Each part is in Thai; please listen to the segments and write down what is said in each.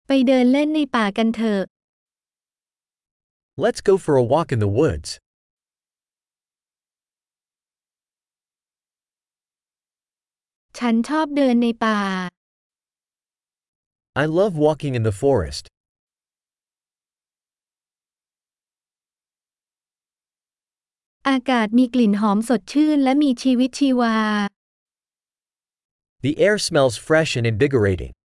ไปเดินเล่นในป่ากันเถอะ Let's go for a walk in the woods. ฉันชอบเดินในป่า I love walking in the forest. อากาศมีกลิ่นหอมสดชื่นและมีชีวิตชีวา The air smells fresh and invigorating.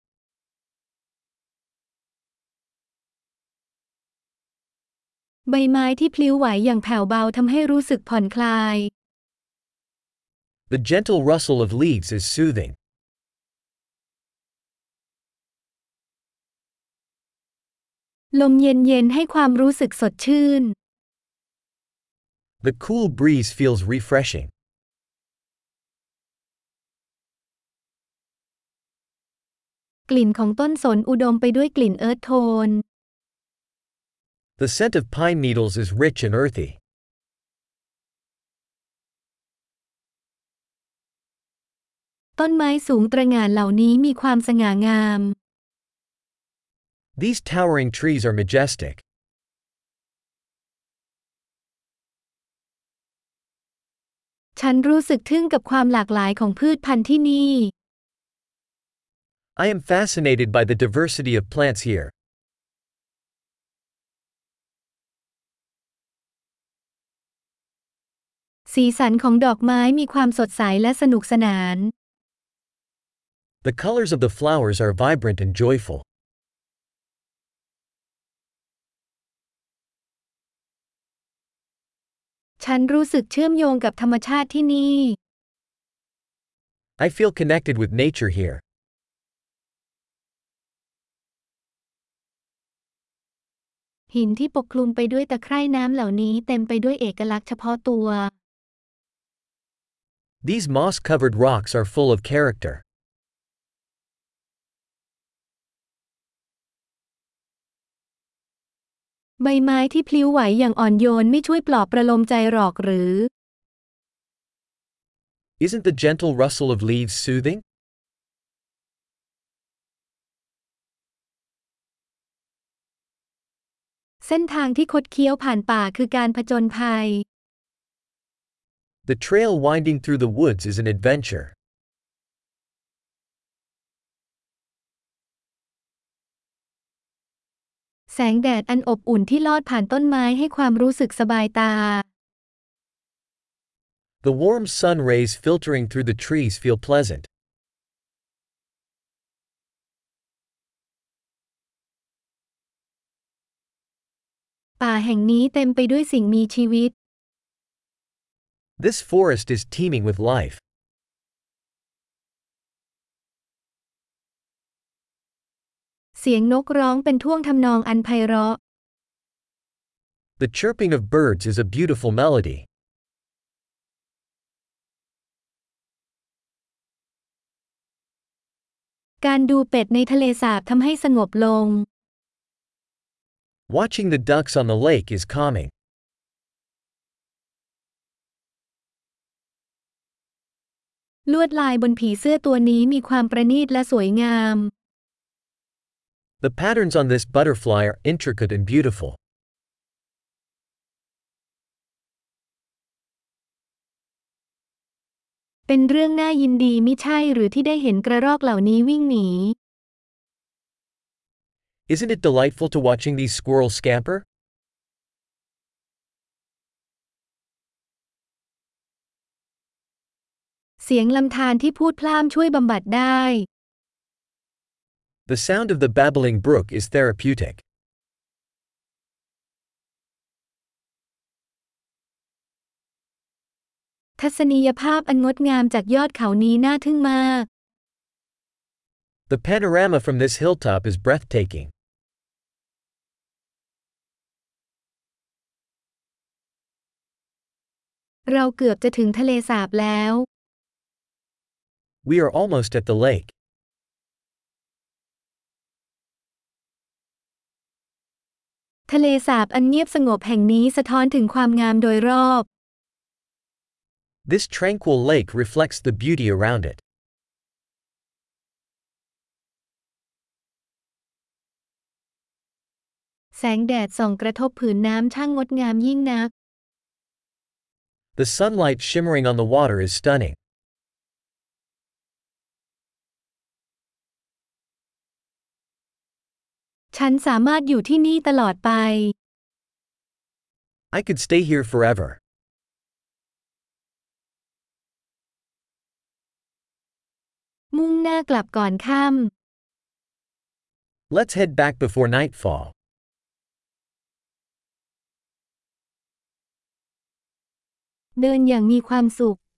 ใบไม้ที่พลิ้วไหวอย่างแผ่วเบาทำให้รู้สึกผ่อนคลาย The gentle rustle of leaves is soothing. ลมเย็นๆให้ความรู้สึกสดชื่น The cool breeze feels refreshing. กลิ่นของต้นสนอุดมไปด้วยกลิ่นเอิร์ธโทน The scent of pine needles is rich and earthy. ต้นไม้สูงตระหง่านเหล่านี้มีความสง่างาม These towering trees are majestic. ฉันรู้สึกทึ่งกับความหลากหลายของพืชพันธุ์ที่นี่ I am fascinated by the diversity of plants here. สีสันของดอกไม้มีความสดใสและสนุกสนาน The colors of the flowers are vibrant and joyful. ฉันรู้สึกเชื่อมโยงกับธรรมชาติที่นี่ I feel connected with nature here. หินที่ปกคลุมไปด้วยตะไคร่น้ำเหล่านี้เต็มไปด้วยเอกลักษณ์เฉพาะตัว These moss-covered rocks are full of character. ใบไม้ที่พลิ้วไหวอย่างอ่อนโยนไม่ช่วยปลอบประโลมใจหรอกหรือ Isn't the gentle rustle of leaves soothing? เส้นทางที่คดเคี้ยวผ่านป่าคือการผจญภัย The trail winding through the woods is an adventure. แสงแดดอันอบอุ่นที่ลอดผ่านต้นไม้ให้ความรู้สึกสบายตา The warm sun rays filtering through the trees feel pleasant. ป่าแห่งนี้เต็มไปด้วยสิ่งมีชีวิต This forest is teeming with life. เสียงนกร้องเป็นท่วงทำนองอันไพเราะ The chirping of birds is a beautiful melody. การดูเป็ดในทะเลสาบทำให้สงบลง Watching the ducks on the lake is calming. ลวดลายบนผีเสื้อตัวนี้มีความประณีตและสวยงาม The patterns on this butterfly are intricate and beautiful. เป็นเรื่องน่ายินดีมิใช่หรือที่ได้เห็นกระรอกเหล่านี้วิ่งหนี Isn't it delightful to watching these squirrels scamper? เสียงลำธารที่พูดพล่ามช่วยบำบัดได้ The sound of the babbling brook is therapeutic. ทัศนียภาพอันงดงามจากยอดเขานี้น่าทึ่งมาก The panorama from this hilltop is breathtaking. เราเกือบจะถึงทะเลสาบแล้ว We are almost at the lake. ทะเลสาบอันเงียบสงบแห่งนี้สะท้อนถึงความงามโดยรอบ This tranquil lake reflects the beauty around it. แสงแดดส่องกระทบผืนน้ำช่างงดงามยิ่งนัก The sunlight shimmering on the water is stunning. ฉันสามารถอยู่ที่นี่ตลอดไป I could stay here forever. มุ่งหน้ากลับก่อนค่ Let's head back before nightfall. ำเดินอย่างมีความสุข